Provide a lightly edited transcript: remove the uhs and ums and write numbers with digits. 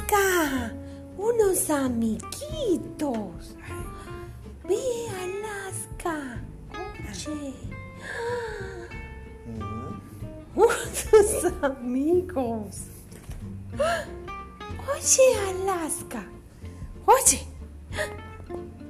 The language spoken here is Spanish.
Alaska, unos amiguitos. Ve, Alaska. Oye. Unos amigos. Oye, Alaska. Oye.